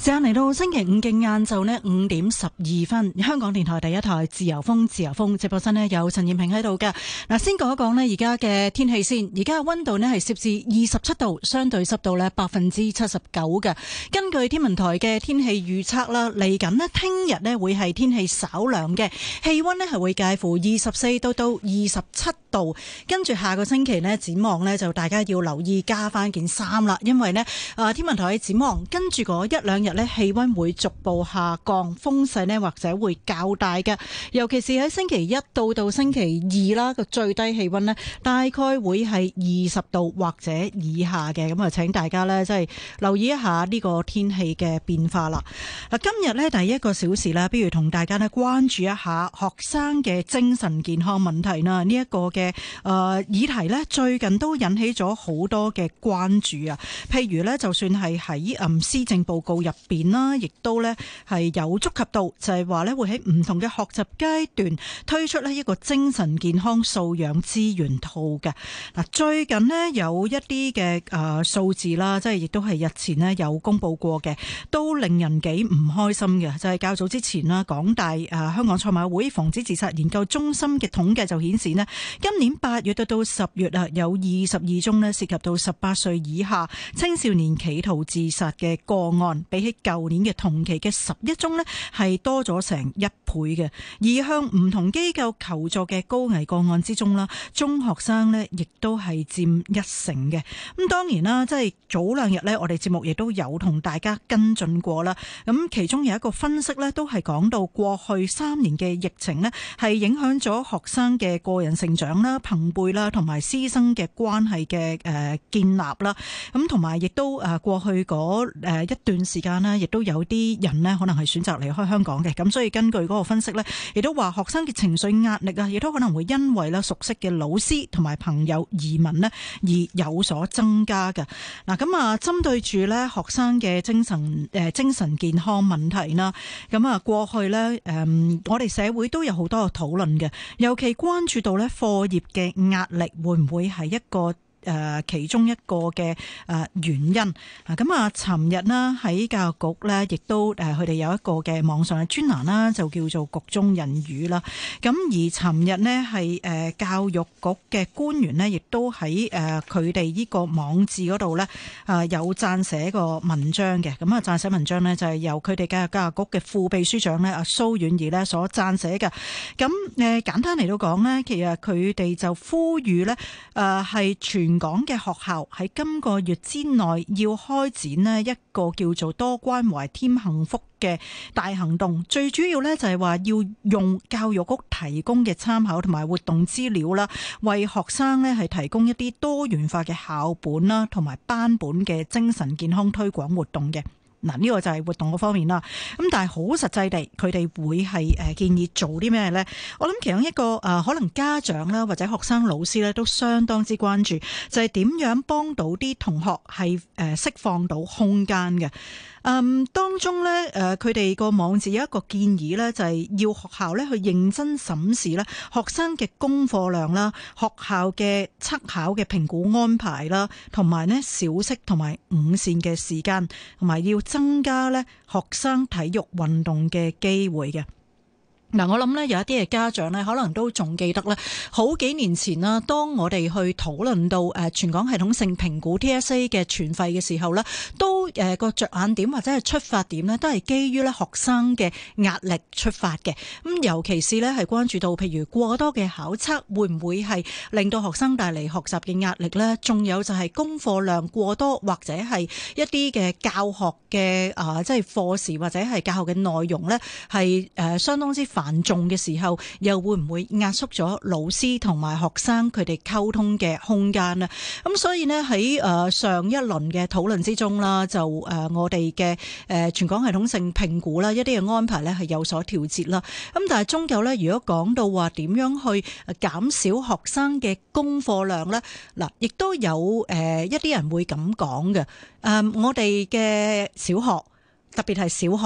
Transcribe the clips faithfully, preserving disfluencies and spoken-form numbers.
間嚟到星期五嘅晏晝呢，五點十二分，香港電台第一台自由風，自由風直播室呢有陳燕萍喺度㗎。嗱，先講一講呢而家嘅天氣先。而家嘅溫度呢係攝氏二十七度，相對濕度呢百分之七十九嘅。根據天文台嘅天氣預測啦，嚟緊呢聽日呢會係天氣稍涼嘅，氣溫呢係會介乎二十四度到二十七度。跟住下個星期呢，展望呢就大家要留意加翻件衫啦，因為呢啊天文台嘅展望跟住嗰一兩日呢氣溫會逐步下降，風勢呢或者會較大嘅，尤其是喺星期一到到星期二啦，個最低氣溫呢大概會係二十度或者以下嘅，咁啊請大家呢即係留意一下呢個天氣嘅變化啦。嗱，今日呢第一個小時呢，不如同大家呢關注一下學生嘅精神健康問題啦。呢、這、一個嘅誒、呃、議題呢，最近都引起咗好多嘅關注啊。譬如呢，就算係喺誒施政報告入邊啦，亦都呢係有觸及到，就係話呢會喺唔同嘅學習階段推出呢一個精神健康素養資源套嘅。嗱，最近呢有一啲嘅誒數字啦，即係亦都係日前呢有公布過嘅，都令人幾唔開心嘅。就係、是、較早之前啦，港大誒香港賽馬會防止自殺研究中心嘅統計就顯示呢，今年八月到到十月啊，有二十二宗呢涉及到十八歲以下青少年企圖自殺嘅個案，比起舊年嘅同期嘅十一宗呢係多咗成一倍嘅。而向唔同機構求助嘅高危個案之中啦，中學生呢亦都係佔一成嘅。咁當然啦，即係早兩日呢，我哋節目亦都有同大家跟進過啦。咁其中有一個分析呢，都係講到過去三年嘅疫情呢，係影響咗學生嘅個人成長啦、朋輩啦，同埋師生嘅關係嘅誒建立啦。咁同埋亦都誒過去嗰誒一段時間呢，亦都有啲人呢可能係選擇離開香港嘅。咁所以根據嗰個分析呢，亦都話學生嘅情緒壓力啊，亦都可能會因為咧熟悉嘅老師同埋朋友移民呢而有所增加嘅。嗱，咁啊，針對住呢學生嘅精神誒精神健康問題啦，咁啊過去呢，誒我哋社會都有好多嘅討論嘅，尤其關注到呢課業嘅壓力會唔會係一個誒其中一個嘅誒原因啊。咁啊，尋日啦喺教育局咧，亦都誒佢哋有一個嘅網上嘅專欄啦，就叫做局中人語啦。咁而尋日咧係誒教育局嘅官員咧，亦都喺誒佢哋呢個網誌嗰度咧啊有撰寫個文章嘅。咁啊，撰寫文章咧就係由佢哋嘅教育局嘅副秘書長咧阿蘇婉儀咧所撰寫嘅。咁誒簡單嚟到講咧，其實佢哋就呼籲咧誒係全全港嘅學校喺今個月之內要開展呢一個叫做多關懷添幸福嘅大行動，最主要呢就係話要用教育局提供嘅參考同埋活動資料啦，為學生呢係提供一啲多元化嘅校本啦，同埋班本嘅精神健康推廣活動嘅。嗱，呢個就係活動嗰方面啦。咁但係好實際地，佢哋會係誒建議做啲咩呢？我諗其中一個誒可能家長啦或者學生老師咧都相當之關注，就係點樣幫到啲同學係誒釋放到空間嘅。嗯，當中咧，誒佢哋個網誌有一個建議咧，就係要學校咧去認真審視咧學生嘅功課量啦、學校嘅測考嘅評估安排啦，同埋咧小息同埋午膳嘅時間，同埋要增加咧學生體育運動嘅機會嘅。嗱，我諗咧有一啲嘅家長咧，可能都仲記得咧，好幾年前啦，當我哋去討論到誒全港系統性評估 T S A 嘅全費嘅時候咧，都誒個着眼點或者係出發點咧，都係基於咧學生嘅壓力出發嘅。咁尤其是咧係關注到，譬如過多嘅考測會唔會係令到學生帶嚟學習嘅壓力咧？仲有就係功課量過多，或者係一啲嘅教學嘅啊，即係課時或者係教學嘅內容咧，係誒相當之繁重嘅時候，又會唔會壓縮咗老師同埋學生佢哋溝通嘅空間呢？咁所以呢，喺誒上一輪嘅討論之中啦，就誒我哋嘅誒全港系統性評估啦，一啲嘅安排呢係有所調節啦。咁但係終究呢，如果講到話點樣去減少學生嘅功課量呢？嗱，亦都有誒一啲人會咁講嘅。誒，我哋嘅小學特別係小學。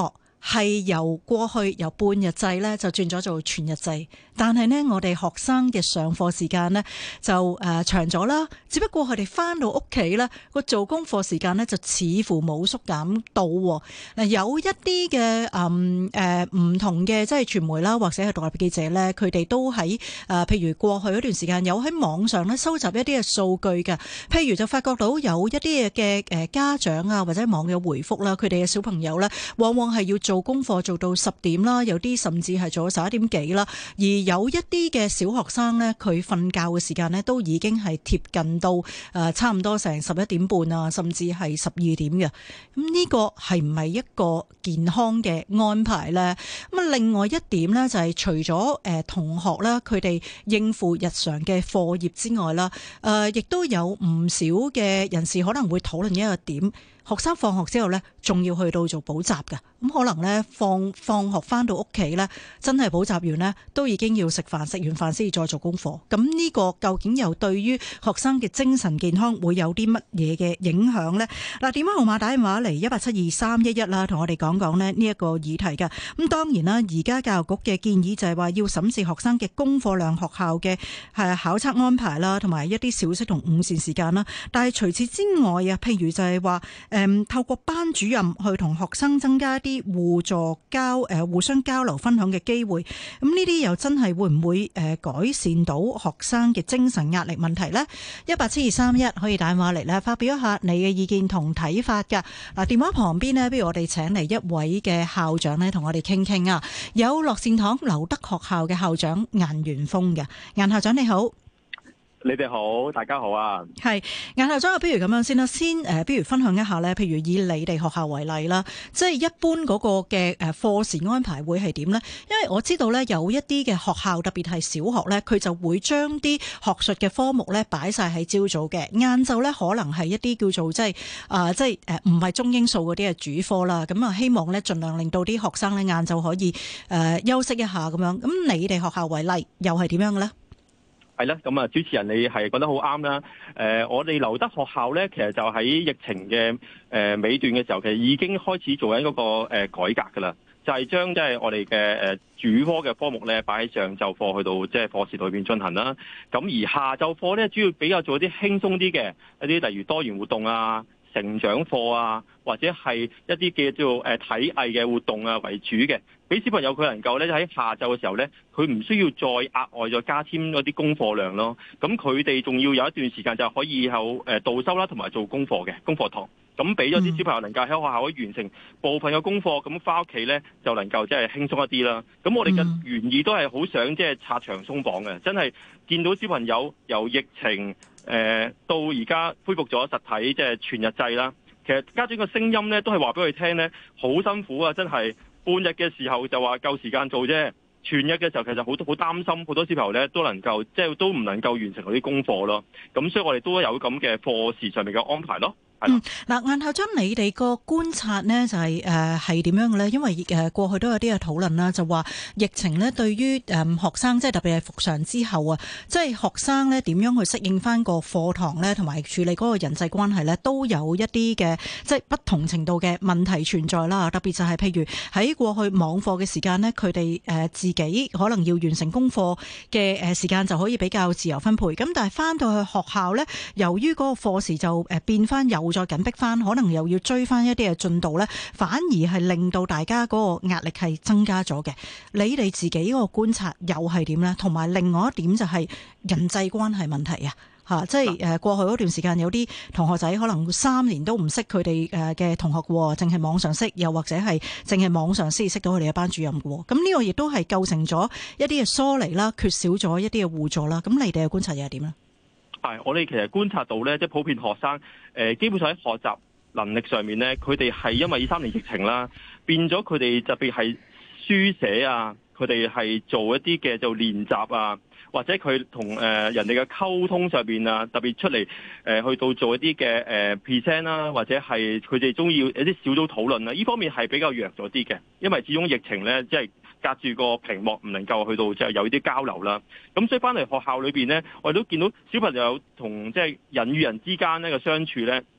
係由過去由半日制咧就轉咗做全日制，但係呢，我哋學生嘅上課時間呢就誒、呃、長咗啦。只不過佢哋翻到屋企咧個做功課時間呢就似乎冇縮減到。嗱，有一啲嘅誒誒唔同嘅即係傳媒啦，或者係獨立記者咧，佢哋都喺誒、呃、譬如過去嗰段時間有喺網上咧收集一啲嘅數據嘅，譬如就發覺到有一啲嘅誒家長啊或者網友回覆啦，佢哋嘅小朋友咧往往係要做功課做到十點啦，有啲甚至係做到十一點幾啦。而有一啲嘅小學生呢，佢瞓覺嘅時間呢，都已經係貼近到誒差唔多成十一點半啊，甚至係十二點嘅。咁呢個係唔係一個健康嘅安排呢？咁啊，另外一點呢，就係除咗誒同學啦，佢哋應付日常嘅課業之外啦，誒亦都有唔少嘅人士可能會討論一個點。學生放學之後呢，仲要去到做補習㗎，咁可能呢，放放學翻到屋企呢，真係補習完呢，都已經要食飯，食完飯先至再做功課。咁呢個究竟又對於學生嘅精神健康會有啲乜嘢嘅影響呢？嗱，電話號碼打電話嚟一八七二三一一啦，同我哋講講呢呢一個議題㗎。咁當然啦，而家教育局嘅建議就係話要審視學生嘅功課量、學校嘅係考測安排啦，同埋一啲小息同午膳時間啦。但係除此之外啊，譬如就係話，誒，透過班主任去同學生增加一啲互助交誒互相交流分享嘅機會，咁呢啲又真係會唔會誒改善到學生嘅精神壓力問題呢？一八七二三一可以打電話嚟咧，發表一下你嘅意見同睇法㗎。嗱，電話旁邊呢，不如我哋請嚟一位嘅校長呢，同我哋傾傾啊。有樂善堂劉德學校嘅校長顏元鋒嘅，顏校長你好。 你哋好，大家好啊！ 係顏校長，不如咁樣先啦，先誒，不如分享一下咧，譬如以你哋學校為例啦，即係一般嗰個嘅誒課時安排會係點呢？因為我知道咧，有一啲嘅學校，特別係小學咧，佢就會將啲學術嘅科目咧擺晒喺朝早嘅，晏晝咧可能係一啲叫做即係啊，即係誒唔係中英數嗰啲嘅主科啦。咁啊，希望咧盡量令到啲學生咧晏晝可以誒休息一下咁樣。咁你哋學校為例，又係點樣嘅咧？ 係啦，咁啊，主持人你係講得好啱啦。誒、呃，我哋劉德學校咧，其實就喺疫情嘅誒、呃、尾段嘅時候，其實已經開始做緊嗰個誒改革噶啦，就係將即係我哋嘅誒主科嘅科目咧擺喺上晝課去到即係課時裏邊進行啦。咁而下晝課咧，主要比較做一啲輕鬆啲嘅一啲，例如多元活動啊、成長課啊，或者係一啲嘅叫做誒體藝嘅活動啊為主嘅，俾小朋友佢能夠咧喺下晝嘅時候咧，佢唔需要再額外再加添嗰啲功課量咯。咁佢哋仲要有一段時間就可以有誒導修啦，同埋做功課嘅功課堂。咁俾咗啲小朋友能夠喺學校可以完成部分嘅功課，咁翻屋企咧就能夠即係輕鬆一啲啦。咁我哋嘅原意都係好想即係拆牆鬆綁嘅，真係見到小朋友由疫情誒、呃、到而家恢復咗實體即係全日制啦。其實家長嘅聲音咧都係話俾佢聽咧，好辛苦啊！真係半日嘅時候就話夠時間做啫，全日嘅時候其實好多好擔心，好多小朋友咧都能夠即係都唔能夠完成嗰啲功課咯。咁所以我哋都有咁嘅課時上面嘅安排咯。 嗯，嗱，顏校長，你哋個觀察呢就係誒係點樣嘅咧？因為誒過去都有啲嘅討論啦，就話疫情咧對於誒學生，即係特別係復常之後啊，即係學生咧點樣去適應翻個課堂咧，同埋處理嗰個人際關係咧，都有一啲嘅即係不同程度嘅問題存在啦。特別就係譬如喺過去網課嘅時間呢，佢哋誒自己可能要完成功課嘅誒時間就可以比較自由分配。咁但係翻到去學校咧，由於嗰個課時就誒變翻有再緊迫翻，可能又要追翻一啲嘅進度咧，反而係令到大家嗰個壓力係增加咗嘅。你哋自己嗰個觀察又係點咧？同埋另外一點就係人際關係問題啊，吓，即係誒過去嗰段時間有啲同學仔可能三年都唔識佢哋誒嘅同學嘅，淨係網上識，又或者係淨係網上先識到佢哋嘅班主任嘅。咁呢個亦都係構成咗一啲嘅疏離啦，缺少咗一啲嘅互助啦。咁你哋嘅觀察又係點咧？ 係，我哋其實觀察到咧，即係普遍學生，誒基本上喺學習能力上面咧，佢哋係因為呢三年疫情啦，變咗佢哋特別係書寫啊，佢哋係做一啲嘅做練習啊，或者佢同誒人哋嘅溝通上邊啊，特別出嚟誒去到做一啲嘅誒 present 啦，或者係佢哋中意一啲小組討論啊，呢方面係比較弱咗啲嘅，因為始終疫情咧，即係隔住個屏幕唔能夠去到即係有啲交流啦，咁所以翻嚟學校裏邊咧，我哋都見到小朋友同即係人與人之間呢個相處咧，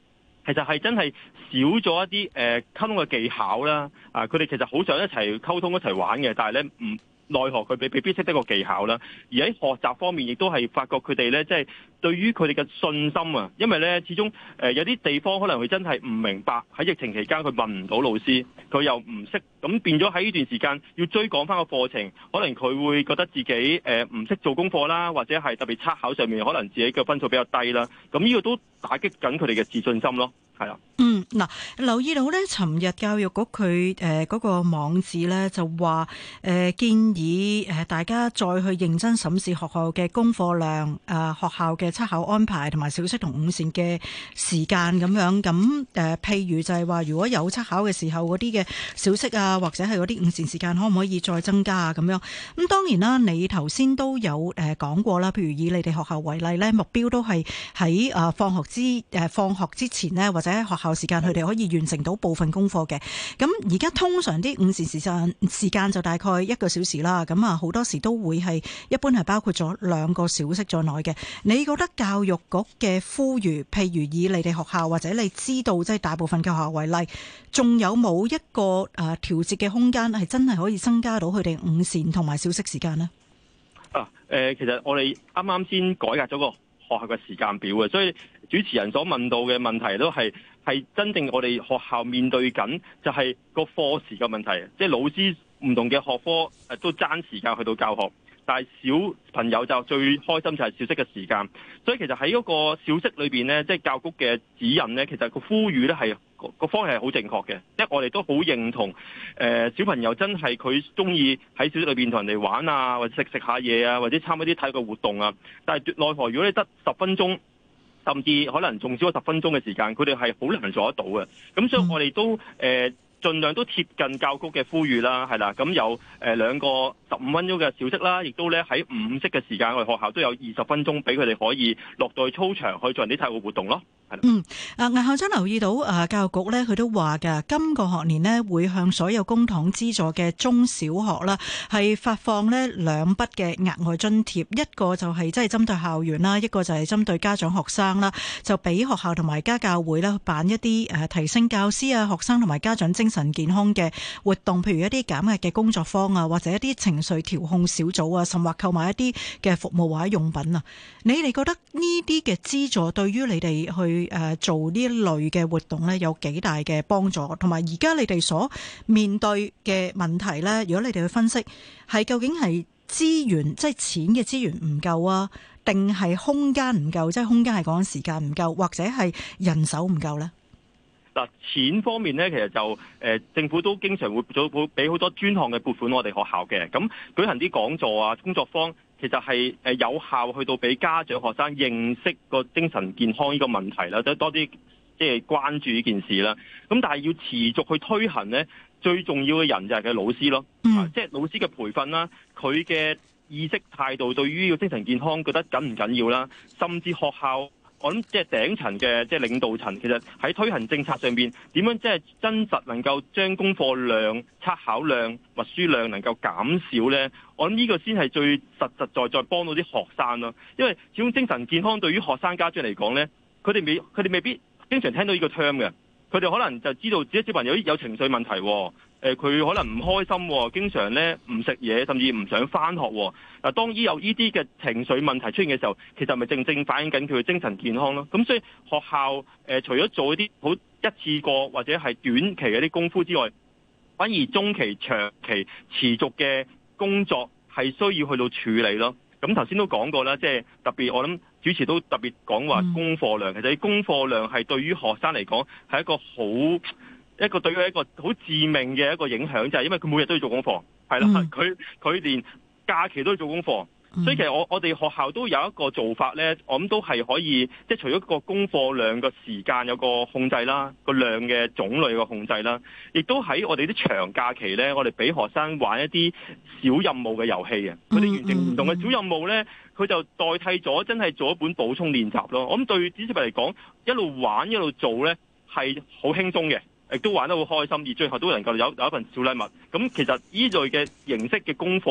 其實係真係少咗一啲誒、呃、溝通嘅技巧啦。啊，佢哋其實好想一齊溝通一齊玩嘅，但係咧唔奈何佢未未必識得個技巧啦。而喺學習方面，亦都係發覺佢哋咧，即係對於佢哋嘅信心啊，因為咧始終誒、呃、有啲地方可能佢真係唔明白，喺疫情期間佢問唔到老師，佢又唔識，咁變咗喺呢段時間要追趕翻個課程，可能佢會覺得自己誒唔識做功課啦，或者係特別測考上面可能自己嘅分數比較低啦。咁呢個都打擊緊佢哋嘅自信心咯。係啊， 嗯，嗱，留意到咧，尋日教育局佢誒嗰個網址咧就話誒、呃、建議誒大家再去認真審視學校嘅功課量、誒、呃、學校嘅測考安排同埋小息同午膳嘅時間咁樣。咁誒、呃，譬如就係話，如果有測考嘅時候嗰啲嘅小息啊，或者係嗰啲午膳時間，可唔可以再增加啊？咁樣咁當然啦，你頭先都有誒講過啦，譬如以你哋學校為例咧，目標都係喺誒放學之誒、呃、放學之前呢，或者喺學校時間佢哋可以完成到部分功課嘅。咁而家通常啲午膳時間時間就大概一個小時啦。咁啊好多時都會係一般係包括咗兩個小息在內嘅。你覺得教育局嘅呼籲，譬如以你哋學校或者你知道即係大部分嘅學校為例，仲有冇一個誒調節嘅空間係真係可以增加到佢哋午膳同埋小息時間呢？ 啊，誒、呃，其實我哋啱啱先改革咗個學校嘅時間表嘅，所以主持人所問到嘅問題都係係真正我哋學校面對緊，就係個課時嘅問題，即係老師唔同嘅學科誒都爭時間去到教學，但係小朋友就最開心就係小息嘅時間，所以其實喺嗰個小息裏邊呢，即係教局嘅指引呢，其實個呼籲呢係個方向係好正確嘅，即係我哋都好認同誒、呃、小朋友真係佢中意喺小息裏邊同人哋玩啊，或者食食下嘢啊，或者參加啲體育活動啊，但係奈何如果你得十分鐘，甚至可能仲少咗十分鐘嘅時間，佢哋係好難做得到嘅。咁所以我哋都誒、呃、盡量都貼近教局嘅呼籲啦，係啦。咁有誒兩個十五分鐘嘅小息啦，亦都咧喺午息嘅時間，我哋學校都有二十分鐘俾佢哋可以落到去操場去做啲體育活動咯。 嗯，啊，魏校長留意到啊，教育局咧佢都話㗎，今個學年呢會向所有公帑資助嘅中小學啦，係發放呢兩筆嘅額外津貼，一個就係即係針對校園啦，一個就係針對家長學生啦，就俾學校同埋家教會啦辦一啲誒提升教師啊、學生同埋家長精神健康嘅活動，譬如一啲減壓嘅工作坊啊，或者一啲情緒調控小組啊，甚或購買一啲嘅服務或者用品啊。你哋覺得呢啲嘅資助對於你哋去誒做呢一類嘅活動咧，有幾大嘅幫助？同埋而家你哋所面對嘅問題咧，如果你哋去分析，係究竟係資源，即係錢嘅資源唔夠啊，定係空間唔夠？即係空間係講緊時間唔夠，或者係人手唔夠咧？ 嗱，錢方面咧，其實就誒、呃、政府都經常會做會俾好多專項嘅撥款我哋學校嘅，咁舉行啲講座啊、工作坊，其實係誒有效去到俾家長學生認識個精神健康呢個問題啦，都多啲即係關注呢件事啦。咁但係要持續去推行咧，最重要嘅人就係佢老師咯，嗯啊、即係老師嘅培訓啦，佢嘅意識態度對於呢個精神健康覺得緊唔緊要啦，甚至學校。我諗即係頂層嘅即係領導層，其實喺推行政策上邊點樣即係真實能夠將功課量、測考量、默書量能夠減少呢？我諗呢個先係最實實在在幫到啲學生咯。因為始終精神健康對於學生家長嚟講呢，佢哋未佢哋未必經常聽到呢個 term 嘅，佢哋可能就知道自己小朋友有情緒問題，誒、呃、佢可能唔開心，經常咧唔食嘢，甚至唔想返學。嗱，當依有呢啲嘅情緒問題出現嘅時候，其實咪正正反映緊佢嘅精神健康咯。咁所以學校誒、呃、除咗做一啲好一次過或者係短期嘅啲功夫之外，反而中期、長期持續嘅工作係需要去到處理咯。咁頭先都講過啦，即係特別我諗主持都特別講話功課量，其實功課量係對於學生嚟講係一個好一個對佢一個好致命嘅一個影響，就係因為佢每日都要做功課，係啦，佢佢連假期都要做功課，所以其實我我哋學校都有一個做法咧，我諗都係可以，即係除咗個功課量個時間有個控制啦，個量嘅種類個控制啦，亦都喺我哋啲長假期咧，我哋俾學生玩一啲小任務嘅遊戲嘅，佢哋完成唔同嘅小任務咧，佢就代替咗真係做一本補充練習咯。我諗對啲小朋友嚟講，一路玩一路做咧係好輕鬆嘅。亦都玩得好開心，而最後都能夠有有一份小禮物。咁其實呢類嘅形式嘅功課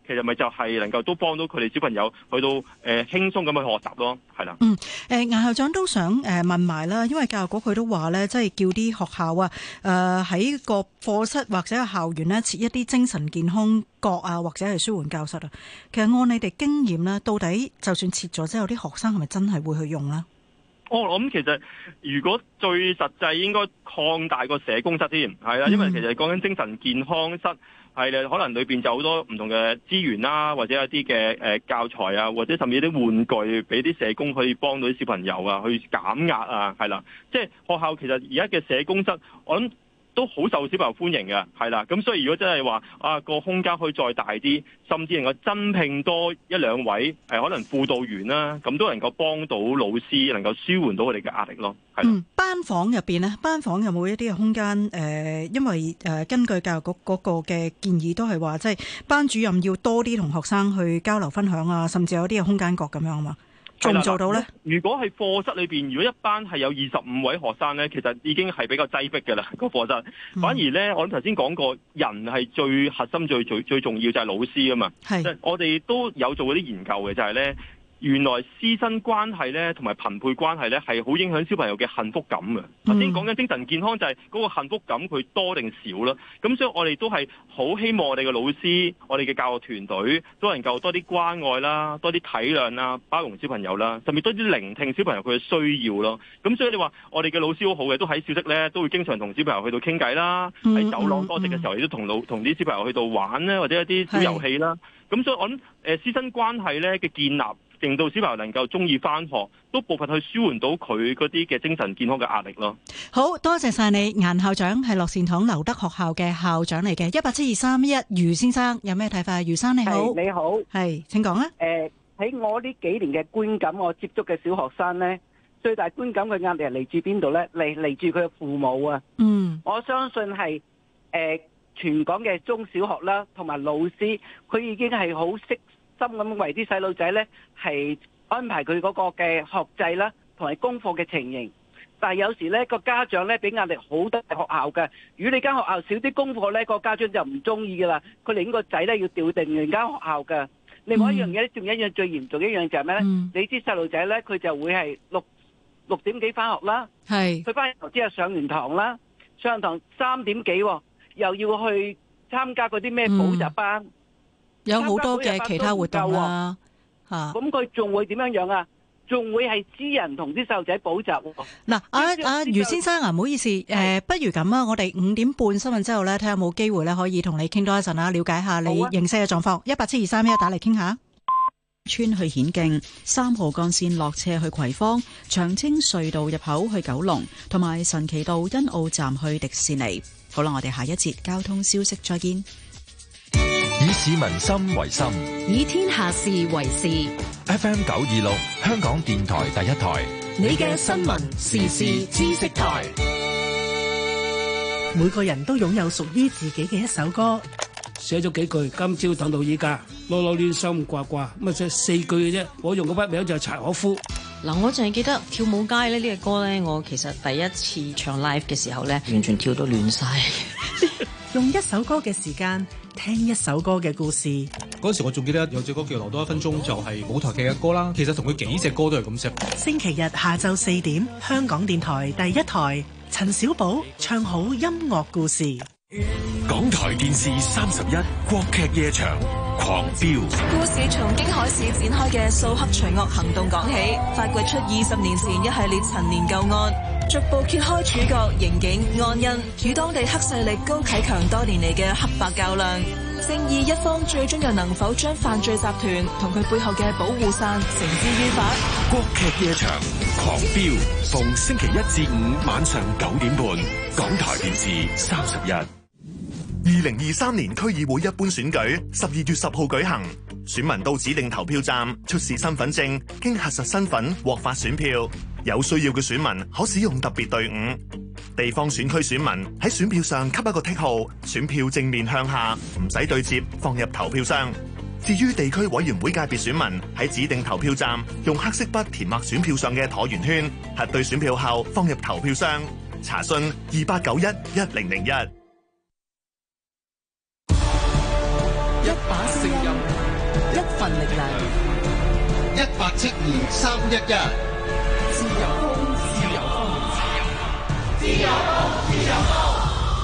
其實咪就係能夠都幫到佢哋小朋友去到誒輕鬆咁去學習咯，係啦。 嗯，誒顏校長都想誒問埋啦，因為教育局佢都話咧，即係叫啲學校啊，誒喺個課室或者係校園咧設一啲精神健康角啊，或者係舒緩教室啊。其實按你哋經驗咧，到底就算設咗之後，啲學生係咪真係會去用咧？ 哦，我諗其實如果最實際應該擴大個社工室添，係啦，因為其實講緊精神健康室係咧，可能裏邊就好多唔同嘅資源啦，或者一啲嘅誒教材啊，或者甚至啲玩具俾啲社工可以幫到啲小朋友啊，去減壓啊，係啦，即係學校其實而家嘅社工室，我諗都好受小朋友歡迎嘅，係啦，咁所以如果真係話啊個空間可以再大啲，甚至能夠增聘多一兩位誒可能輔導員啦，咁都能夠幫到老師，能夠舒緩到佢哋嘅壓力咯。係啦。 嗯，班房入邊呢，班房有冇一啲嘅空間？誒、呃，因為誒、呃、根據教育局嗰個嘅建議，都係話即係班主任要多啲同學生去交流分享啊，甚至有啲嘅空間角咁樣啊嘛。做唔做到呢？ 如果係課室裏邊，如果一班係有二十五位學生呢，其實已經係比較擠迫嘅啦，個課室。反而呢，我頭先講過，人係最核心、最最最重要就係老師啊嘛。係，我哋都有做嗰啲研究嘅，就係呢。原來師生關係咧，同埋朋輩關係咧，係好影響小朋友嘅幸福感嘅。頭先講緊精神健康就係嗰個幸福感佢多定少啦。咁所以我哋都係好希望我哋嘅老師、我哋嘅教學團隊都能夠多啲關愛啦，多啲體諒啦，包容小朋友啦，甚至多啲聆聽小朋友佢嘅需要咯。咁所以你話我哋嘅老師好好嘅，都喺小息咧都會經常同小朋友去到傾偈啦，喺走廊多席嘅時候亦都同老同啲小朋友去到玩咧，或者一啲小遊戲啦。咁所以我諗誒師生關係咧嘅建立，令到小朋友能夠中意返學，都部分去舒緩到佢嗰啲嘅精神健康嘅壓力咯。 好多謝晒你，顏校長係樂善堂劉德學校嘅校長嚟嘅。一八七二三一，余先生有咩睇法？余生你好， 你好， 係請講啊。 誒、呃，喺我呢幾年嘅觀感，我接觸嘅小學生呢，最大觀感嘅壓力係嚟自邊度呢？嚟嚟自佢嘅父母啊。嗯，我相信係誒、呃、全港嘅中小學啦，同埋老師，佢已經係好識心咁為啲細路仔呢係安排佢嗰個嘅學制啦，同埋功課嘅情形。但係有時呢個家長呢俾壓力好大學校嘅，如果你間學校少啲功課呢，個家長就唔中意噶啦，佢寧願個仔呢要調定人間學校嘅。另外一樣嘢，仲有一樣最嚴重一樣就係咩呢？嗯、你知細路仔呢，佢就會係六六點幾翻學啦，係佢翻學之後上完堂啦，上完堂三點幾又要去參加嗰啲咩補習班。嗯有好多嘅其他活動啦， 吓咁佢仲會點樣樣啊？仲會係私人同啲細路仔補習。 嗱，阿阿余先生啊，唔好意思，誒、呃，不如咁啊，我哋五點半新聞之後咧，睇下有冇機會咧，可以同你傾多一陣啦，了解下你認識嘅狀況。一八七二三一，打嚟傾下。村去顯徑，三號幹線落斜去葵芳，長青隧道入口去九龍，同埋神奇道欣澳站去迪士尼。好啦，我哋下一節交通消息再見。 以市民心為心， 以天下事為事。 F M 九二六，香港電台第一台， 你嘅新聞時事知識台。 每個人都擁有屬於自己嘅一首歌。 寫咗幾句，今朝等到依家，囉囉攣心掛掛，咁啊，即係四句嘅啫。我用嘅筆名就係柴可夫。 嗱，我淨係記得跳舞街咧呢個歌咧，我其實第一次唱 live 嘅時候咧，完全跳到亂晒。 用一首歌嘅時間聽一首歌嘅故事。 嗰時我仲記得有隻歌叫《留多一分鐘》，就係舞台劇嘅歌啦。其實同佢幾隻歌都係咁寫。 星期日下晝四點，香港電台第一台，陳小寶唱好音樂故事。 港台電視三十一國劇夜場狂飆， 故事從京海市展開嘅掃黑除惡行動講起，發掘出二十年前一系列陳年舊案，逐步揭開主角刑警安恩與當地黑勢力高啟強多年嚟嘅黑白較量，正義一方最終又能否將犯罪集團同佢背後嘅保護傘繩之於法？ 國劇夜場狂飆，逢星期一至五晚上九點半，港台電視三十一。 二零二三年區議會一般選舉十二月十號舉行，選民到指定投票站出示身份證，經核實身份獲發選票。有需要嘅選民可使用特別隊伍。地方選區選民喺選票上給一個剔號，選票正面向下，唔使對接，放入投票箱。至於地區委員會界別選民喺指定投票站用黑色筆填畫選票上嘅橢圓圈，核對選票後放入投票箱。查詢二八九一一零零一。 一把聲音份力量。 一八七二三一一， 自由風，自由風，自由風，自由風，自由風。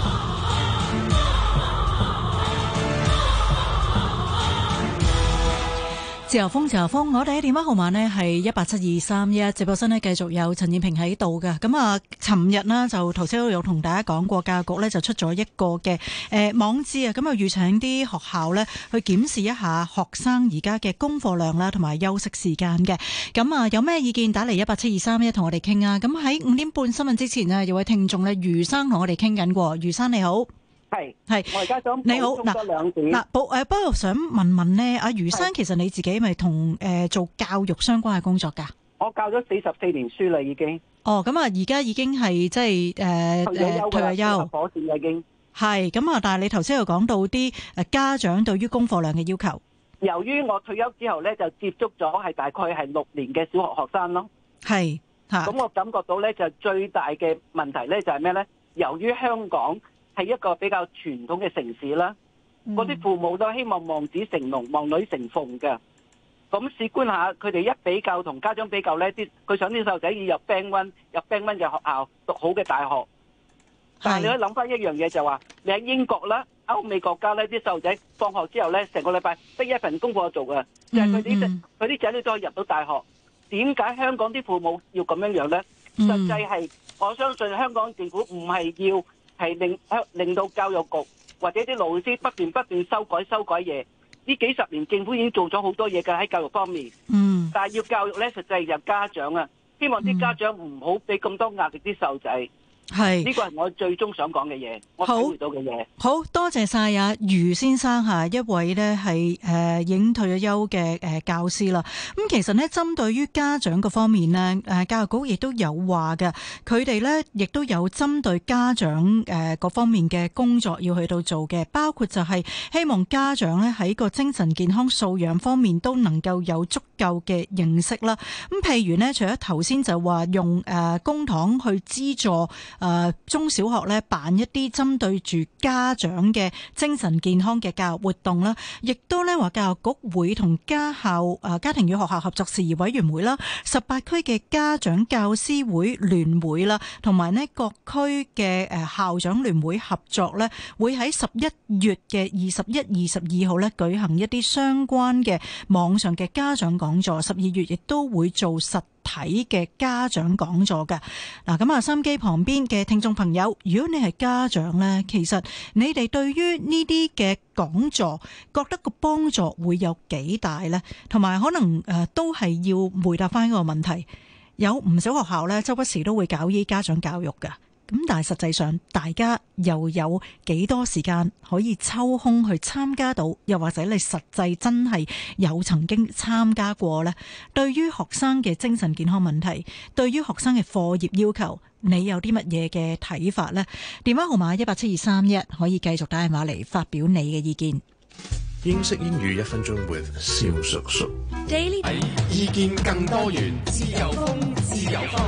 自由風，自由風，我哋嘅電話號碼呢係一八七二三一，直播室呢繼續有陳燕萍喺度嘅。咁啊，尋日呢就頭先都有同大家講過，教育局呢就出咗一個嘅誒、呃、網誌啊，咁啊預請啲學校呢去檢視一下學生而家嘅功課量啦，同埋休息時間嘅。咁啊，有咩意見打嚟一八七二三一同我哋傾啊。咁喺五點半新聞之前呢，有位聽眾呢，余生同我哋傾緊過。余生你好。 係係， 我而家想你好嗱嗱， 補誒，不過想問問呢，阿余生，其實你自己咪同誒做教育相關嘅工作噶？ 我教咗四十四年書啦，已經。 哦，咁啊，而家已經係即係誒誒退咗休， 火線已經係咁啊！但係你頭先又講到啲誒家長對於功課量嘅要求。 由於我退休之後咧，就接觸咗係大概係六年嘅小學學生咯。 係嚇。 咁我感覺到咧，就最大嘅問題咧就係咩咧？由於香港係一個比較傳統嘅城市啦，嗰啲、嗯、父母都希望望子成龍、望女成鳳嘅。咁試觀下，佢哋一比較同家長比較呢，啲佢想啲細路仔要入 Band One、入 Band One 嘅學校讀好嘅大學。但係你可以諗翻一樣嘢就話，你喺英國啦、歐美國家呢啲細路仔放學之後呢，成個禮拜得一份功課做嘅，就係佢啲佢啲仔女都可以入到大學。點解香港啲父母要咁樣樣呢？ 嗯、 實際係我相信香港政府唔係要。係令令到教育局或者啲老師不斷不斷修改修改嘢。呢幾十年政府已經做咗好多嘢㗎喺教育方面。嗯。但係要教育咧，實際由家長啊，希望啲家長唔好俾咁多壓力啲細路仔。係。呢個係我最終想講嘅嘢，我體會到嘅嘢。好多謝晒啊，余先生嚇，一位呢係誒已經退咗休嘅誒教師啦。咁其實呢，針對於家長嗰方面呢，誒教育局亦都有話嘅，佢哋呢亦都有針對家長誒各方面嘅工作要去到做嘅，包括就係希望家長呢喺個精神健康素養方面都能夠有足夠嘅認識啦。咁譬如呢，除咗頭先就話用誒公帑去資助。誒、呃、中小學咧辦一啲針對住家長嘅精神健康嘅教育活動啦，亦都咧話教育局會同家校誒、呃、家庭與學校合作事宜委員會啦、十八區嘅家長教師會聯會啦，同埋呢各區嘅誒校長聯會合作咧，會喺十一月嘅二十一、二十二號咧舉行一啲相關嘅網上嘅家長講座，十二月亦都會做實體嘅家長講座嘅。嗱，咁啊，收音機旁邊嘅聽眾朋友，如果你係家長呢，其實你哋對於呢啲嘅講座覺得個幫助會有幾大呢？同埋可能誒都係要回答翻一個問題，有唔少學校呢，周不時都會搞依家長教育嘅。咁但係實際上，大家又有幾多時間可以抽空去參加到？又或者你實際真係有曾經參加過呢？對於學生嘅精神健康問題，對於學生嘅課業要求，你有啲乜嘢嘅睇法呢？電話號碼一八七二三一，可以繼續打電話嚟發表你嘅意見。 英式英語一分鐘 with 蕭叔叔。 Daily 意見更多元， 自由風，自由風。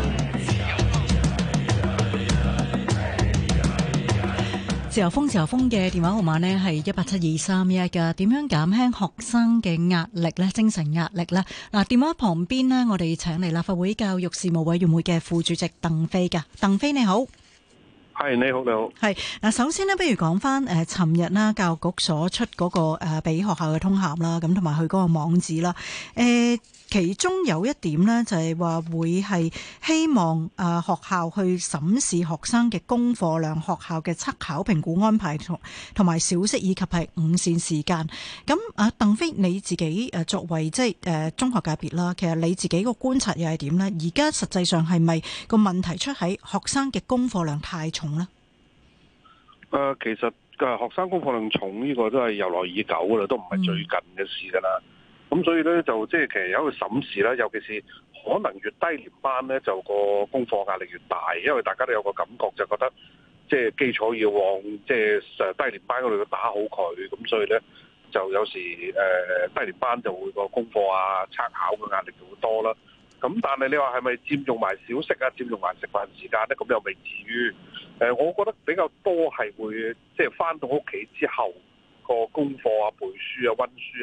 自由風，自由風嘅電話號碼呢係一八七二三一㗎。點樣減輕學生嘅壓力呢？精神壓力呢？嗱，電話旁邊呢，我哋請嚟立法會教育事務委員會嘅副主席鄧飛㗎。鄧飛你好。 係，你好，你好。係嗱，首先呢，不如講翻誒，尋日啦，教育局所出嗰個誒，俾學校嘅通函啦，咁同埋佢嗰個網址啦，誒。其中有一點呢，就係話會係希望誒學校去審視學生嘅功課量、學校嘅測考評估安排同同埋小息以及係午膳時間。咁啊，鄧飛你自己誒作為即係誒中學界別啦，其實你自己個觀察又係點呢？而家實際上係咪個問題出喺學生嘅功課量太重呢？ 誒、呃，其實嘅學生功課量重呢個都係由來已久噶啦，都唔係最近嘅事噶啦。咁、嗯、所以咧就即係其實有一個審視啦，尤其是可能越低年班咧就個功課壓力越大，因為大家都有個感覺就覺得即係基礎要往即係低年班嗰度要打好佢，咁所以咧就有時誒、呃、低年班就會個功課啊測考嘅壓力就會多啦。咁但係你話係咪佔用埋小息啊，佔用埋食飯時間咧？咁又未至於。誒、呃，我覺得比較多係會即係返到屋企之後個功課啊、背書啊、溫書啊。個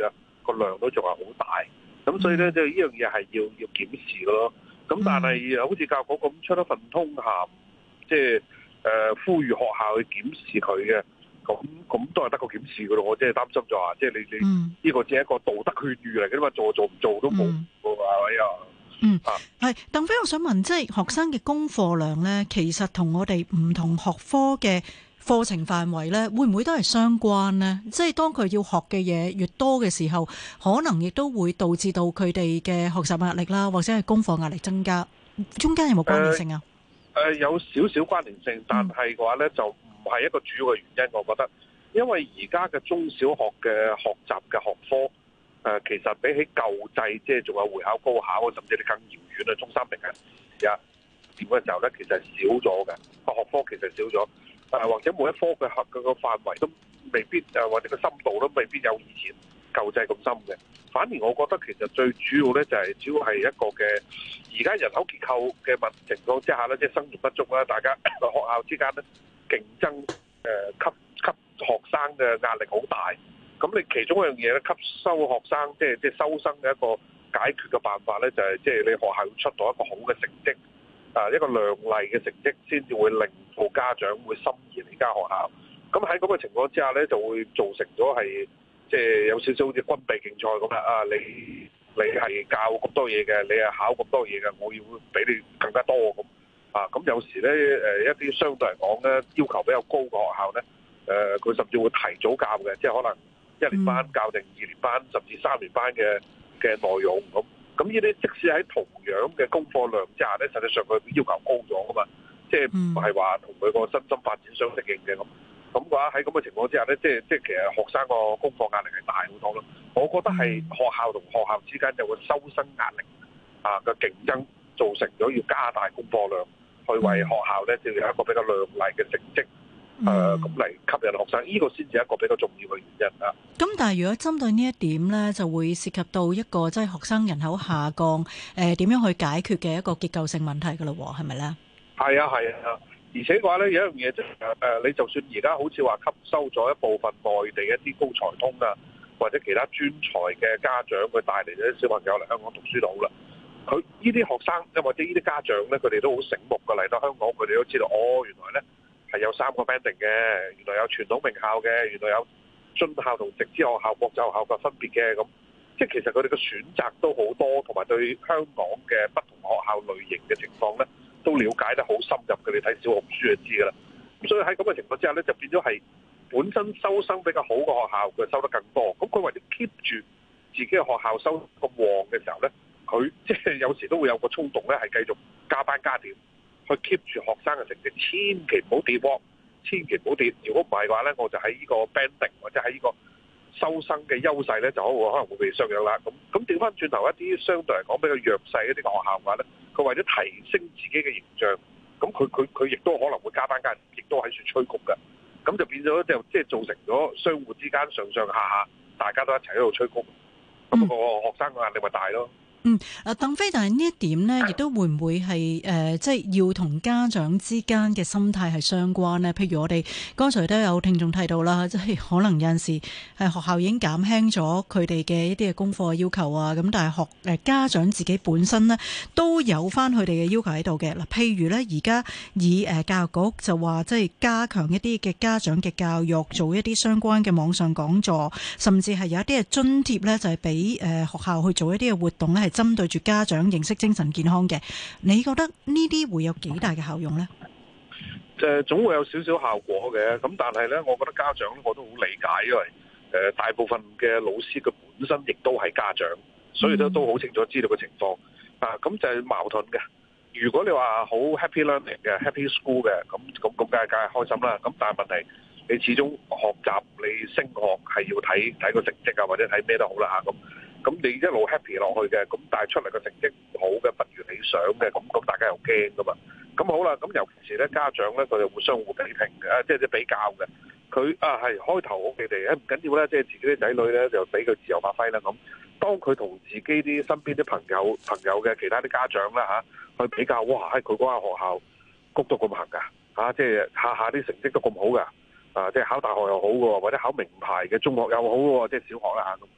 個量都仲係好大。咁所以咧，就呢樣嘢係要要檢視嘅咯。咁但係好似教育局咁出一份通函，即係誒呼籲學校去檢視佢嘅，咁咁都係得個檢視嘅咯。我即係擔心就話，即係你你呢個只係一個道德勸喻嚟嘅啫嘛，做做唔做都冇嘅話，係咪啊？ 嗯，係鄧飛，我想問，即係學生嘅功課量咧，其實同我哋唔同學科嘅課程範圍咧，會唔會都係相關呢？即係當佢要學嘅嘢越多嘅時候，可能亦都會導致到佢哋嘅學習壓力啦，或者係功課壓力增加，中間有冇關聯性啊？ 誒、呃呃，有少少關聯性，但係嘅話咧，就唔係一個主要嘅原因，我覺得，因為而家嘅中小學嘅學習嘅學科。誒、呃，其實比起舊制，即係仲有會考、高考，甚至你更遙遠嘅中三定係啊點嘅時候咧，其實係少咗嘅個學科，其實少咗。誒、呃，或者每一科嘅學嘅個範圍都未必誒，或者個深度都未必有以前舊制咁深嘅。反而我覺得其實最主要咧就係、是、主要係一個嘅而家人口結構嘅問情況之下咧，即係生源不足啦，大家學校之間咧競爭誒、呃，吸吸學生嘅壓力好大。咁你其中一樣嘢咧，吸收學生即係即係收生嘅一個解決嘅辦法咧，就係即係你學校要出到一個好嘅成績，啊一個亮麗嘅成績，先至會令到家長會心儀你間學校。咁喺咁嘅情況之下咧，就會造成咗係即係有少少好似軍備競賽咁啦。啊，你你係教咁多嘢嘅，你係考咁多嘢嘅，我要比你更加多咁。啊，咁有時咧誒一啲相對嚟講咧要求比較高嘅學校咧，誒佢甚至會提早教嘅，即係可能一年班教定二年班，甚至三年班嘅嘅內容咁，咁呢啲即使喺同樣嘅功課量之下咧，實際上佢要求高咗噶嘛，即係唔係話同佢個身心發展相適應嘅咁。咁嘅話喺咁嘅情況之下咧，即係即係其實學生個功課壓力係大好多咯。我覺得係學校同學校之間有個收生壓力啊嘅競爭，造成咗要加大功課量，去為學校咧就有一個比較亮麗嘅成績。誒咁嚟吸引學生，呢、這個先至係一個比較重要嘅原因啊。咁但係如果針對呢一點咧，就會涉及到一個即係學生人口下降，誒、呃、點樣去解決嘅一個結構性問題㗎咯喎，係咪咧？係啊係啊，而且嘅話咧有一樣嘢即係誒，你就算而家好似話吸收咗一部分內地一啲高才通啊，或者其他專才嘅家長，佢帶嚟啲小朋友嚟香港讀書都好啦。佢呢啲學生，又或者呢啲家長咧，佢哋都好醒目㗎，嚟到香港，佢哋都知道哦，原來咧。係有三個 banding 嘅，原來有傳統名校嘅，原來有津校同直資學校、國際學校嘅分別嘅咁，即係其實佢哋嘅選擇都好多，同埋對香港嘅不同學校類型嘅情況咧，都了解得好深入嘅。你睇小紅書就知㗎啦。咁所以喺咁嘅情況之下咧，就變咗係本身收生比較好嘅學校，佢收得更多。咁佢為咗 keep 住自己嘅學校收咁旺嘅時候咧，佢即係有時都會有個衝動咧，係繼續加班加點。去 keep 住學生嘅成績，千祈唔好跌波，千祈唔好跌。如果唔係嘅話咧，我就喺呢個 banding 或者喺呢個收生嘅優勢咧，就可能會被削弱啦。咁咁調翻轉頭一啲相對嚟講比較弱勢一啲嘅學校嘅話咧，佢為咗提升自己嘅形象，咁佢佢佢亦都可能會加班加，亦都喺處催谷嘅。咁就變咗就即係造成咗相互之間上上下下大家都一齊喺度催谷，咁、嗯、個學生嘅壓力咪大咯。 嗯，嗱，鄧飛，但係呢一點呢，亦都會唔會係誒、呃，即係要同家長之間嘅心態係相關呢？譬如我哋剛才都有聽眾提到啦，即係可能有陣時係學校已經減輕咗佢哋嘅一啲嘅功課要求啊，咁但係學誒家長自己本身呢，都有翻佢哋嘅要求喺度嘅。嗱，譬如呢，而家以誒教育局就話，即係加強一啲嘅家長嘅教育，做一啲相關嘅網上講座，甚至係有一啲嘅津貼呢，就係俾誒學校去做一啲嘅活動呢，係針對住家長認識精神健康嘅，你覺得呢啲會有幾大嘅效用呢？ 誒，總會有少少效果嘅。咁但係呢，我覺得家長我都好理解，因為誒大部分嘅老師佢本身亦都係家長，所以都都好清楚知道個情況。啊，咁就係矛盾嘅。如果你話好 happy learning 嘅 happy school 嘅，咁咁咁梗係梗係開心啦。咁但係問題，你始終學習你升學係要睇睇個成績啊，或者睇咩都好啦嚇咁。咁你一路 happy 落去嘅，咁但係出嚟個成績唔好嘅，不如理想嘅，咁咁大家又驚噶嘛？咁好啦，咁尤其是咧家長咧，佢哋會相互比拼嘅，即係即係比較嘅。佢啊係開頭我哋誒唔緊要啦，即係自己啲仔女咧就俾佢自由發揮啦咁。當佢同自己啲身邊啲朋友朋友嘅其他啲家長啦嚇去比較，哇！喺佢嗰間學校谷到咁行㗎嚇，即係下下啲成績都咁好㗎，啊即係考大學又好嘅喎，或者考名牌嘅中學又好嘅喎，即係小學啦嚇咁。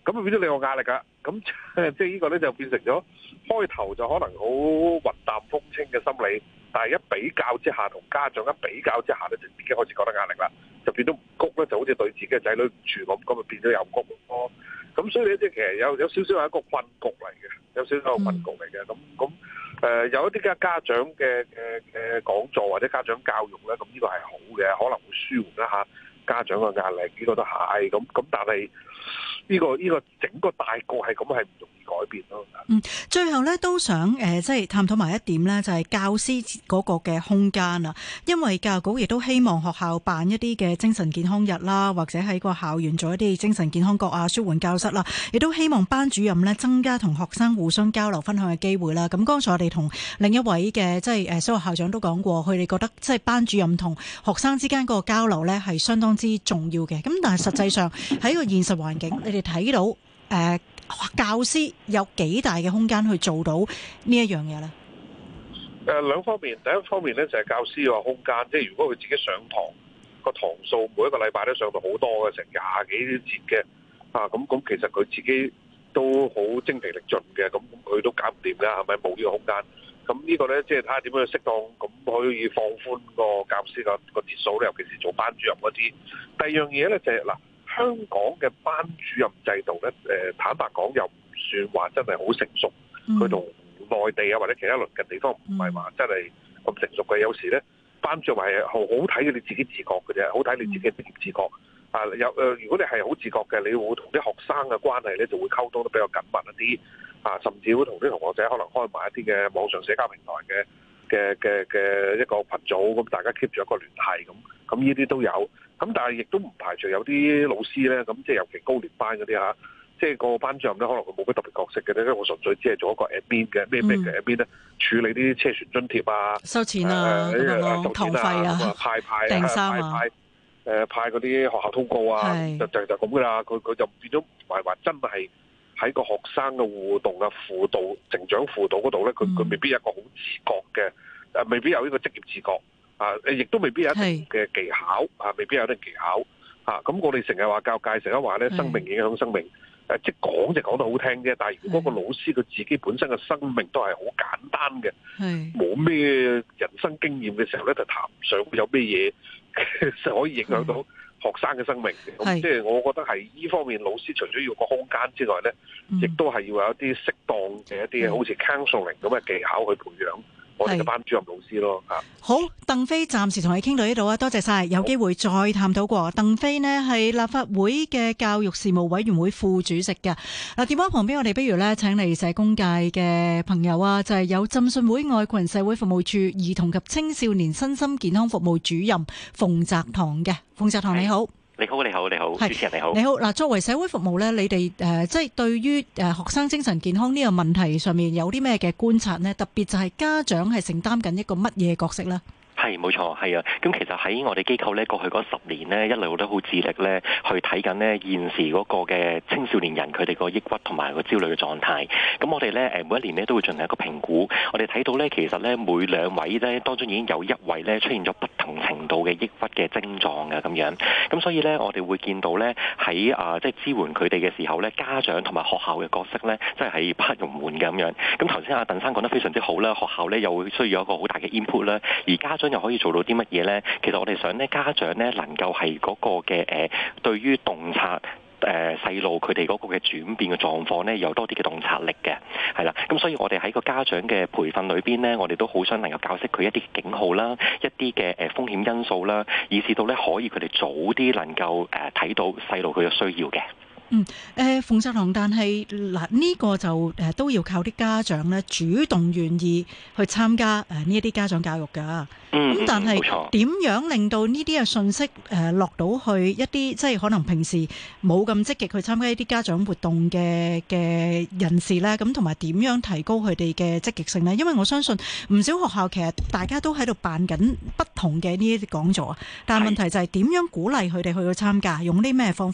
咁啊變咗你有壓力㗎。咁即係呢個咧就變成咗開頭就可能好雲淡風輕嘅心理，但係一比較之下同家長一比較之下咧，就自己開始覺得壓力啦，就變咗唔谷咧，就好似對自己嘅仔女唔住咁，咁啊變咗又谷咯。咁所以咧即係其實有有少少係一個困局嚟嘅，有少少係一個困局嚟嘅。咁咁誒有一啲嘅家長嘅嘅嘅講座或者家長教育咧，咁呢個係好嘅，可能會舒緩一下家長嘅壓力，呢個都係咁咁，但係呢個呢個整個大局係咁係唔容易改變咯。 嗯，最後咧都想誒、呃，即係探討埋一點咧，就係教師嗰個嘅空間啊。因為教育局亦都希望學校辦一啲嘅精神健康日啦，或者喺個校園做一啲精神健康角啊、舒緩教室啦，亦都希望班主任咧增加同學生互相交流分享嘅機會啦。咁剛才我哋同另一位嘅即係誒小學校長都講過，佢哋覺得即係班主任同學生之間嗰個交流咧係相當之重要嘅。咁但係實際上喺個現實環境，你哋睇到誒、呃、教師有幾大嘅空間去做到呢一樣嘢咧？ 誒、呃、兩方面，第一方面咧就係、是、教師個空間，即係如果佢自己上堂個堂數每一個禮拜都上到好多嘅，成廿幾節嘅啊，咁咁其實佢自己都好精疲力盡嘅，咁佢都搞唔掂㗎，係咪冇呢個空間？咁呢個咧即係睇下點樣適當咁可以放寬個教師個個節數咧，尤其是做班主任嗰啲。第二樣嘢咧就係、是、嗱。香港嘅班主任制度咧，誒坦白講又唔算話真係好成熟。佢同內地啊或者其他鄰近地方唔係話真係咁成熟嘅。有時咧，班主任係好好睇你自己自覺嘅啫，好睇你自己職業自覺。啊，有誒，如果你係好自覺嘅，你會同啲學生嘅關係咧就會溝通得比較緊密一啲。啊，甚至會同啲同學仔可能開埋一啲嘅網上社交平台嘅嘅嘅嘅一個群組，咁大家 keep 住一個聯繫咁。咁呢啲都有。咁但係亦都唔排除有啲老師咧，咁即係尤其高年班嗰啲嚇，即係個班主任咧，可能佢冇乜特別角色嘅咧，因為我純粹只係做一個 admin 嘅咩咩嘅 admin 咧，處理啲車船津貼啊、 收錢啊、咁樣咯、堂費啊、 派派訂衫啊、 派誒派嗰啲學校通告啊，就就就咁噶啦。佢佢就變咗唔係話真係喺個學生嘅互動啊、輔導、成長輔導嗰度咧，佢佢未必有一個好自覺嘅，誒未必有呢個職業自覺。啊！亦都未必有一定嘅技巧，啊，未必有一定技巧，啊，咁我哋成日話教育界成日話咧，生命影響生命，誒，即係講就講得好聽啫。但係如果個老師佢自己本身嘅生命都係好簡單嘅，冇咩人生經驗嘅時候咧，就談唔上有咩嘢可以影響到學生嘅生命。咁即係我覺得係呢方面，老師除咗要個空間之外咧，亦都係要有一啲適當嘅一啲好似 counseling 咁嘅技巧去培養我哋嘅班主任老師咯。嚇， 好，鄧飛暫時同你傾到呢度啊，多謝晒，有機會再探討過。鄧飛呢係立法會嘅教育事務委員會副主席嘅。嗱，電話旁邊我哋不如咧請嚟社工界嘅朋友啊，就係、是、有浸信會愛群社會服務處兒童及青少年身心健康服務主任馮澤棠嘅。馮澤棠你好。 你好，你好，你好，主持人你好。 你好，嗱，作為社會服務咧，你哋誒、呃，即係對於誒學生精神健康呢個問題上面有啲咩嘅觀察呢？特別就係家長係承擔緊一個乜嘢角色呢？ 係冇錯，係啊！咁其實喺我哋機構咧，過去嗰十年呢，一路都好致力咧，去睇緊呢現時嗰個嘅青少年人佢哋個抑鬱同埋個焦慮嘅狀態。咁我哋咧誒每一年咧都會進行一個評估。我哋睇到咧，其實咧每兩位咧當中已經有一位咧出現咗不同程度嘅抑鬱嘅症狀嘅咁樣。咁所以咧，我哋會見到咧喺啊即係支援佢哋嘅時候咧，家長同埋學校嘅角色咧，即係係不容緩嘅咁樣。咁頭先阿鄧生講得非常之好啦，學校咧又會需要一個好大嘅 input 啦，而家長又可以做到啲乜嘢呢？其實我哋想呢家長呢能夠係嗰個嘅誒、呃，對於洞察誒細路佢哋嗰個嘅轉變嘅狀況呢，有多啲嘅洞察力嘅，係啦。咁所以我哋喺個家長嘅培訓裏邊呢，我哋都好想能夠教識佢一啲警號啦，一啲嘅誒風險因素啦，以至到呢可以佢哋早啲能夠誒睇到細路佢嘅需要嘅。 嗯，誒馮澤棠，但係嗱呢個就誒、呃、都要靠啲家長咧主動願意去參加誒呢一啲家長教育㗎。 嗯， 咁但係點嗯樣令到呢啲嘅信息誒、呃、落到去一啲即係可能平時冇咁積極去參加一啲家長活動嘅嘅人士咧？咁同埋點樣提高佢哋嘅積極性咧？因為我相信唔少學校其實大家都喺度辦緊不同嘅呢一啲講座啊，但係問題就係點樣鼓勵佢哋去到參加，用啲咩方法啊？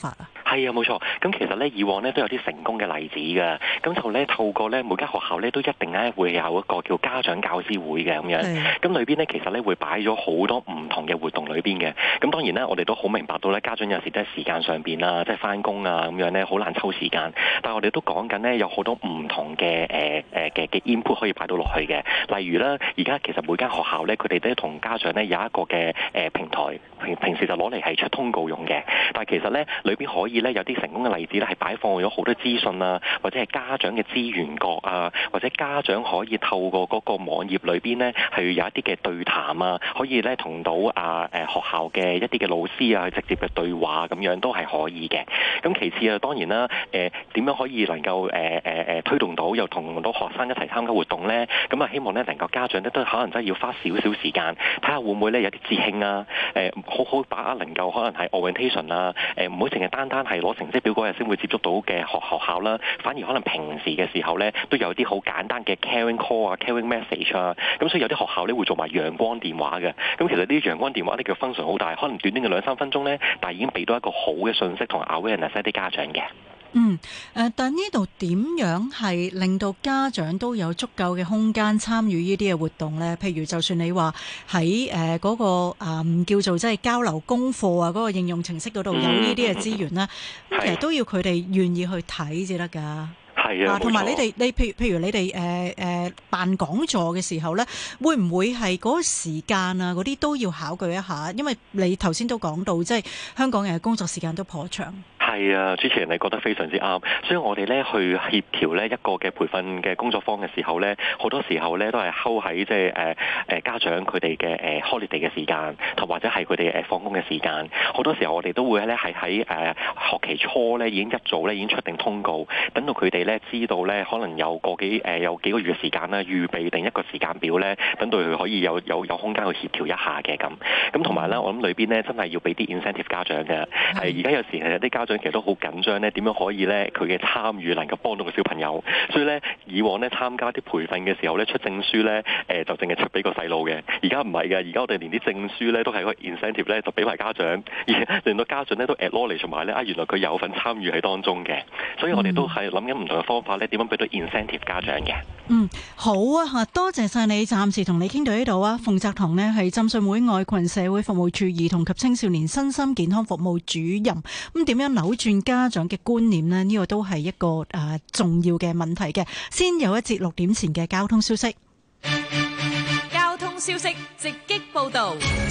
係啊，冇錯。咁其實咧，以往咧都有啲成功嘅例子㗎。咁就咧透過咧每間學校咧都一定咧會有一個叫家長教師會嘅咁樣。咁裏邊咧其實咧會擺咗好多唔同嘅活動裏邊嘅。咁當然咧，我哋都好明白到咧，家長有時都係時間上邊啦，即係翻工啊咁樣咧，好難抽時間。但係我哋都講緊咧，有好多唔同嘅誒誒嘅嘅 input 可以擺到落去嘅。例如咧，而家其實每間學校咧，佢哋都同家長咧有一個嘅誒平台，平平時就攞嚟係出通告用嘅。但係其實咧，裏邊可以咧有啲成功嘅例子咧，係擺放咗好多資訊啊，或者係家長嘅資源角啊，或者家長可以透過嗰個網頁裏邊咧，係有一啲嘅對談啊，可以咧同到啊誒學校嘅一啲嘅老師啊，直接嘅對話咁樣都係可以嘅。咁其次啊，當然啦，誒點樣可以能夠誒誒誒推動到又同到學生一齊參加活動咧？咁啊，希望咧能夠家長咧都可能真係要花少少時間，睇下會唔會咧有啲節慶啊，誒好好把握能夠可能係 orientation 啊，誒唔好淨係單單係攞成績表嗰日先會接觸到嘅學學校啦，反而可能平時嘅時候咧都有啲好簡單嘅 caring call 啊、caring message 啊，咁所以有啲學校咧會做埋陽光電話嘅。咁其實呢啲陽光電話呢，叫 function 好大，可能短短嘅兩三分鐘咧，但係已經俾到一個好嘅信息同 awareness 一啲家長嘅。 嗯，誒，但呢度點樣係令到家長都有足夠嘅空間參與呢啲嘅活動呢？譬如就算你話喺誒嗰個誒、嗯、叫做即係交流功課啊，嗰、嗰個應用程式嗰度有呢啲嘅資源啦，咁、嗯、其實都要佢哋願意去睇至得㗎。 係啊， 同埋你哋，你譬如譬如你哋誒誒辦講座嘅時候咧，會唔會係嗰個時間啊嗰啲都要考據一下？因為你頭先都講到，即係香港嘅工作時間都頗長。 係啊，主持人你覺得非常之啱，所以我哋咧去協調咧一個嘅培訓嘅工作坊嘅時候咧，好多時候咧都係睺喺即係誒誒家長佢哋嘅誒 holiday 嘅時間，同或者係佢哋誒放工嘅時間。好多時候我哋都會咧係喺誒學期初咧已經一早咧已經出定通告，等到佢哋咧知道咧可能有個幾誒有幾個月嘅時間啦，預備定一個時間表咧，等到佢可以有有有空間去協調一下嘅咁。咁同埋咧，我諗裏邊咧真係要俾啲 incentive 家長嘅，係而家有時係有啲家長。其實都好緊張咧，點樣可以咧佢嘅參與能夠幫到個小朋友？所以咧以往咧參加啲培訓嘅時候咧出證書咧，誒、呃、就淨係出俾個細路嘅。而家唔係嘅，而家我哋連啲證書咧都係個 incentive 咧就俾埋家長，而令到家長咧都 acknowledge 同埋咧啊原來佢有份參與喺當中嘅。所以我哋都係諗緊唔同嘅方法咧，點樣俾到 incentive 家長嘅。 嗯，好啊嚇，多謝晒你，暫時同你傾到呢度啊。馮澤棠呢係浸信會愛群社會服務處兒童及青少年身心健康服務主任。咁點樣扭轉家長嘅觀念呢？呢、呢個都係一個誒、呃、重要嘅問題嘅。先有一節六點前嘅交通消息。 交通消息直擊報導。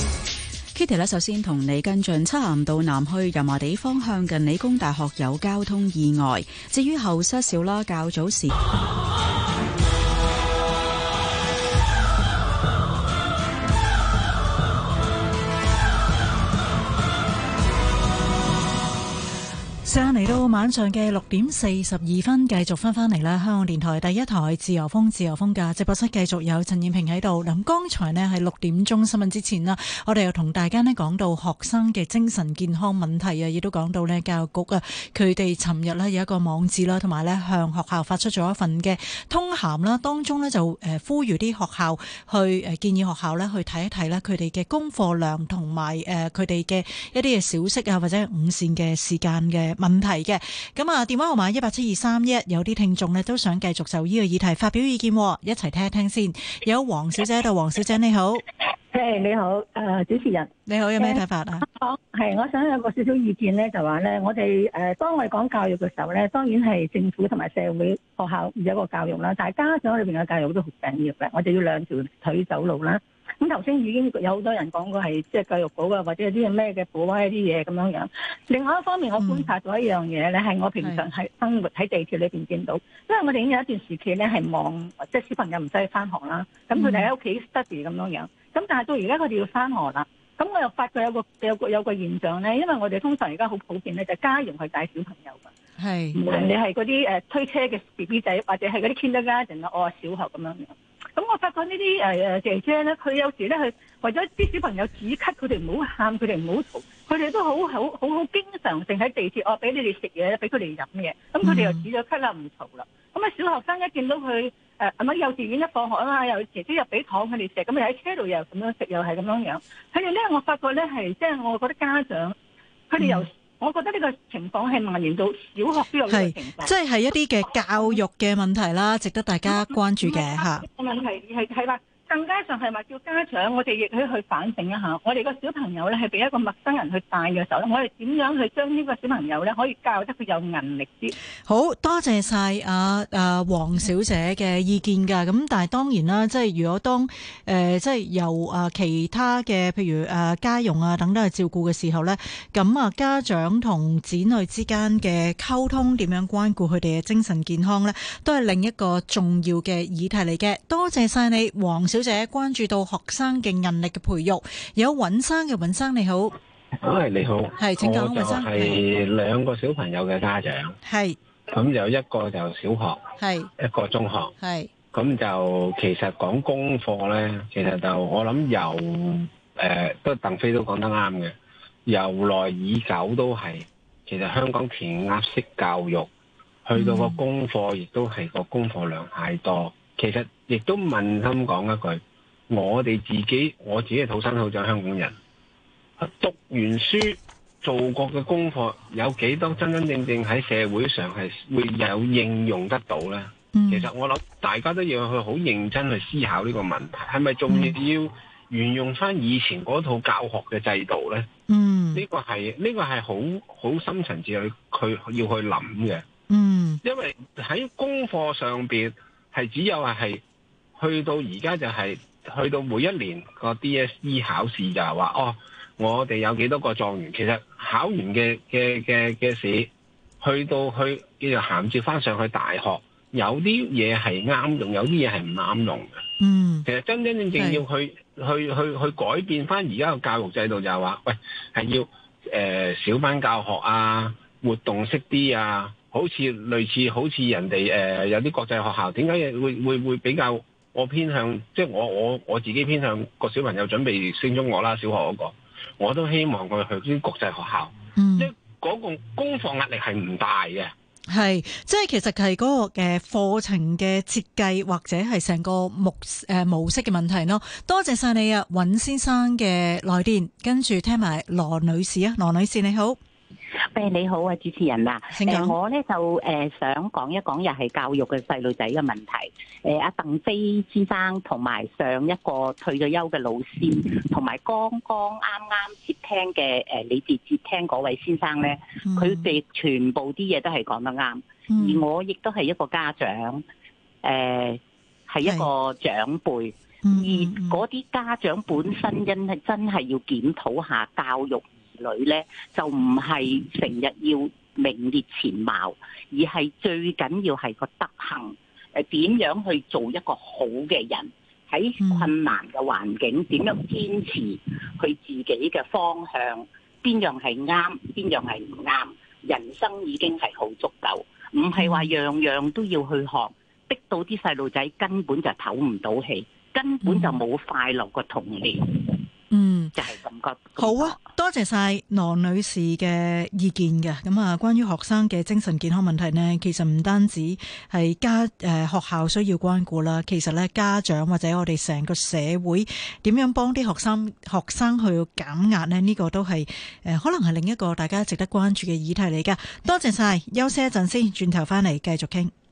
Kitty 咧，首先同你跟進漆咸道南去油麻地方向近理工大學有交通意外。至於後失少啦，較早時。 上嚟到晚上嘅六點四十二分，繼續翻翻嚟啦。香港電台第一台自由風，自由風嘅直播室繼續有陳燕萍喺度。咁剛才呢係六點鐘新聞之前啦，我哋又同大家呢講到學生嘅精神健康問題啊，亦都講到呢教育局啊，佢哋尋日呢有一個網誌啦，同埋呢向學校發出咗一份嘅通函啦，當中呢就誒呼籲啲學校去誒建議學校呢去睇一睇呢佢哋嘅功課量同埋誒佢哋嘅一啲嘅小息啊，或者午膳嘅時間嘅問題嘅。咁啊，電話號碼一八七二三一，有啲聽眾呢都想繼續就呢個議題發表意見，一齊聽一聽先。有黃小姐喺度，黃小姐你好。 誒、hey, 你好，誒、呃、主持人你好，有咩睇法啊？ 係、uh, 我想有個少少意見咧，就話咧，我哋誒、呃、當我哋講教育嘅時候咧，當然係政府同埋社會學校有一個教育啦，但係家長裏邊嘅教育都好緊要嘅，我哋要兩條腿走路啦。咁頭先已經有好多人講過係即係教育局啊，或者有啲咩嘅補啊一啲嘢咁樣樣。另外一方面，我觀察到一樣嘢咧，係、嗯、我平常係生活喺地鐵裏邊見到，因為我哋已經有一段時期咧係望即係小朋友唔使去翻學啦，咁佢哋喺屋企 study 咁樣樣。咁但係到而家佢哋要翻學啦，咁我又發覺有個有個有個現象咧，因為我哋通常而家好普遍咧，就係家用去帶小朋友㗎。係，無論你係嗰啲誒推車嘅 B B 仔，或者係嗰啲 kindergarten 啊，我話小學咁樣樣。咁我發覺呢啲誒誒姐姐咧，佢有時咧係為咗啲小朋友止咳，佢哋唔好喊，佢哋唔好嘈，佢哋都好好好好經常性喺地鐵，我俾你哋食嘢，俾佢哋飲嘢，咁佢哋又止咗咳啦，唔嘈啦。咁啊，小學生一見到佢誒係咪幼稚園一放學啊嘛，又姐姐又俾糖佢哋食，咁又喺車度又咁樣食，又係咁樣樣。佢哋咧，我發覺咧係即係我覺得家長佢哋由我覺得呢個情況係蔓延到小學都有呢個情況， 即係係一啲嘅教育嘅問題啦，值得大家關注嘅嚇。 個問題係係話。更加上係話叫家長，我哋亦可以去反省一下，我哋個小朋友咧係俾一個陌生人去帶嘅時候咧，我哋點樣去將呢個小朋友咧可以教得佢有韌力啲？ 好多謝晒阿阿黃小姐嘅意見㗎。咁但係當然啦，即係如果當誒、呃、即係由啊其他嘅譬如誒家用啊等等去照顧嘅時候咧，咁啊家長同子女之間嘅溝通點樣關顧佢哋嘅精神健康咧，都係另一個重要嘅議題嚟嘅。多謝晒你，黃小姐關注到學生嘅韌力嘅培育。有尹生嘅，尹生你好。 係你好， 係請講，尹生。 係兩個小朋友嘅家長，係咁有一個就小學，係一個中學，係咁就其實講功課咧，其實就我諗由誒、呃、都鄧飛都講得啱嘅，由來已久都係其實香港填鴨式教育，去到個功課亦都係個功課量太多。其實亦都問心講一句，我哋自己我自己係土生土長香港人，讀完書做過嘅功課有幾多真真正正喺社會上係會有應用得到呢？嗯、其實我諗大家都要去好認真去思考呢個問題，係咪仲要沿用翻以前嗰套教學嘅制度呢？嗯，呢個係呢個係好好深層次去佢要去諗嘅。嗯，因為喺功課上邊。係只有係去到而家就係、是、去到每一年個 D S E 考試就係話哦，我哋有幾多個狀元，其實考完嘅嘅嘅嘅試，去到去叫做銜接翻上去大學，有啲嘢係啱用，有啲嘢係唔啱用嘅。嗯，其實真真正正要去去去去改變翻而家個教育制度就係話，喂係要誒、呃、小班教學啊，活動式啲啊。好似類似好似人哋誒、呃、有啲國際學校，點解會會會比較我偏向，即係我我我自己偏向個小朋友準備升中學啦，小學嗰、那個，我都希望佢去啲國際學校，嗯、即係嗰個功課壓力係唔大嘅。係，即係其實係嗰個嘅課程嘅設計或者係成個模誒模式嘅問題咯。多謝晒你啊，尹先生嘅來電，跟住聽埋羅女士啊，羅女士你好。 誒你好啊，主持人啊，誒、呃、我咧就誒、呃、想講一講又係教育嘅細路仔嘅問題。誒阿鄧飛先生同埋上一個退咗休嘅老師，同埋剛剛啱啱接聽嘅誒、呃、你哋接聽嗰位先生咧，佢哋、嗯、全部啲嘢都係講得啱。嗯、而我亦都係一個家長，誒、呃、係一個長輩，嗯、而嗰啲家長本身因係真係要檢討下教育女咧，就唔係成日要名列前茅，而係最緊要係個德行。誒點樣去做一個好嘅人？喺困難嘅環境，點樣堅持佢自己嘅方向？邊樣係啱？邊樣係唔啱？人生已經係好足夠，唔係話樣樣都要去學，逼到啲細路仔根本就唞唔到氣，根本就冇快樂嘅童年。嗯，就係咁覺。 好啊，多謝晒羅女士嘅意見嘅。咁啊，關於學生嘅精神健康問題呢，其實唔單止係家誒、呃、學校需要關顧啦，其實咧家長或者我哋成個社會點樣幫啲學生學生去減壓呢？呢、這個都係誒、呃、可能係另一個大家值得關注嘅議題嚟噶。多謝晒，休息一陣先，轉頭翻嚟繼續傾。